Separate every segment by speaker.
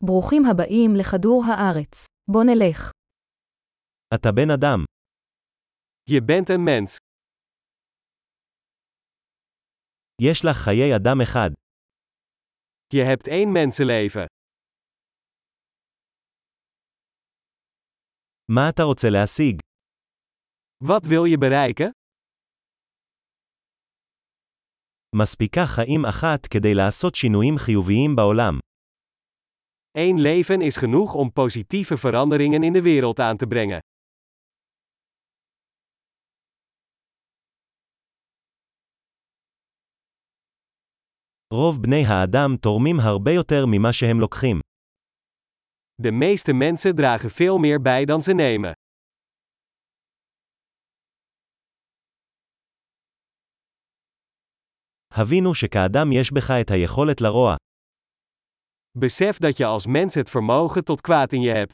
Speaker 1: ברוכים הבאים לכדור הארץ. בוא נלך.
Speaker 2: אתה בן אדם.
Speaker 3: Je bent een mens.
Speaker 2: יש לך חיי אדם אחד.
Speaker 3: Je hebt één mensenleven.
Speaker 2: מה אתה רוצה להשיג?
Speaker 3: Wat wil je bereiken?
Speaker 2: מספיקה חיים אחת כדי לעשות שינויים חיוביים בעולם.
Speaker 3: Eén leven is genoeg om positieve veranderingen in de wereld aan te brengen.
Speaker 2: רוב בני האדם תורמים הרבה יותר ממה שהם לוקחים.
Speaker 3: De meeste mensen dragen veel meer bij dan ze nemen.
Speaker 2: הבינו שכאדם יש בך את היכולת לרוע.
Speaker 3: Besef dat je als mens het vermogen tot kwaad in je hebt.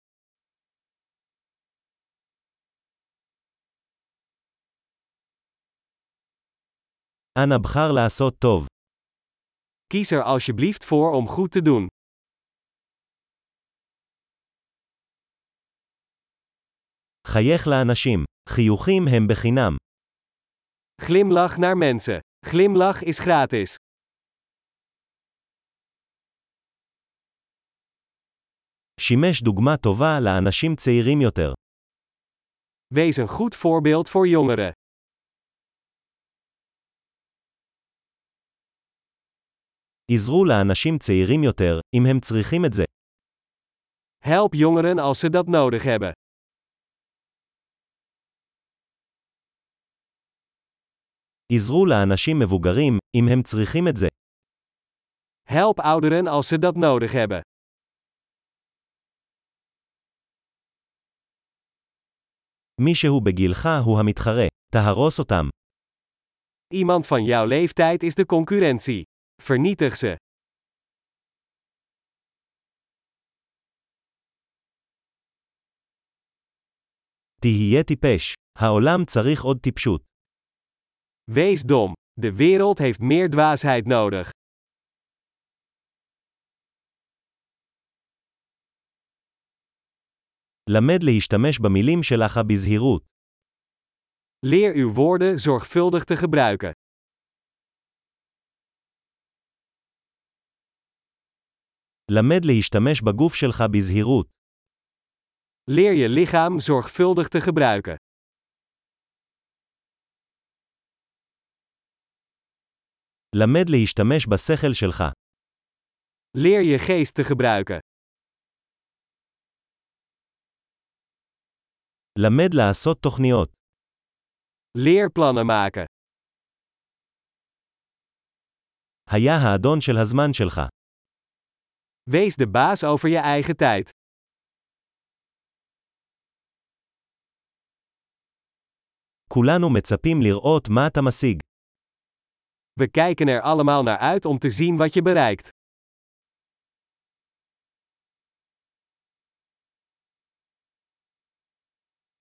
Speaker 2: אנא בחר לעשות טוב.
Speaker 3: Kies er alsjeblieft voor om goed te doen.
Speaker 2: חייך לאנשים. חיוכים הם בחינם.
Speaker 3: Glimlach naar mensen. Glimlach is gratis.
Speaker 2: שימש דוגמה טובה לאנשים צעירים יותר.
Speaker 3: Wees een goed voorbeeld voor jongeren.
Speaker 2: עזרו לאנשים צעירים יותר, אם הם צריכים את זה.
Speaker 3: Help jongeren als ze dat nodig hebben.
Speaker 2: עזרו לאנשים מבוגרים, אם הם צריכים את זה.
Speaker 3: Help ouderen als ze dat nodig hebben.
Speaker 2: מישהו בגילך הוא המתחרה. תהרוס אותם.
Speaker 3: Iemand van jouw leeftijd is de concurrentie. Vernietig ze.
Speaker 2: תהיה טיפש. העולם צריך עוד טיפשות.
Speaker 3: Wees dom. De wereld heeft meer dwaasheid nodig.
Speaker 2: למד להשתמש במילים שלך בזהירות.
Speaker 3: Leer uw woorden zorgvuldig te gebruiken.
Speaker 2: למד להשתמש בגוף שלך בזהירות.
Speaker 3: Leer je lichaam zorgvuldig te gebruiken.
Speaker 2: למד להשתמש בשכל שלך.
Speaker 3: Leer je geest te gebruiken.
Speaker 2: למד לעשות תוכניות.
Speaker 3: Leer plannen maken.
Speaker 2: היה האדון של הזמן שלך.
Speaker 3: Wees de baas over je eigen tijd.
Speaker 2: כולנו מצפים לראות מה אתה משיג.
Speaker 3: We kijken er allemaal naar uit om te zien wat je bereikt.